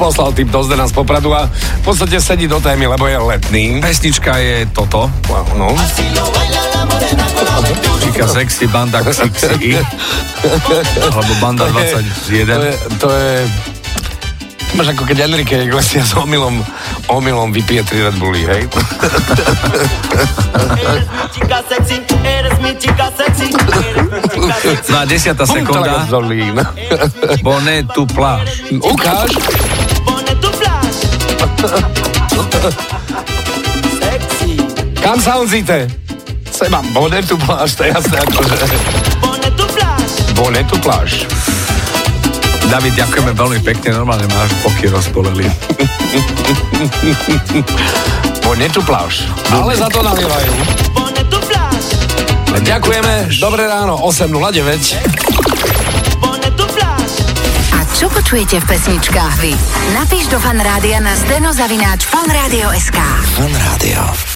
poslal tip do Zdena z Popradu a v podstate sedí do témy, lebo je letný. Pesnička je toto. No. Chica Sexy, Banda XXI. Alebo Banda 21. To je máš ako keď Enrique Iglesias omylom vypije 3 Red Bulli, hej? No a 10. sekunda. Bonnet tu pláž. Ukáž. Kam sa honzíte? Seba, Bonnet tu pláž, to je jasné akože. Bonnet tu pláž. David, ďakujeme veľmi pekne, normálne máš boky rozboleli. Bonnet tu pláž. Ale za to nalievajú. Ďakujeme, dobré ráno, 8:09. A čo počujete v pesničkách vy? Napíš do Fan Rádia na steno@fanradio.sk. Fan Rádio.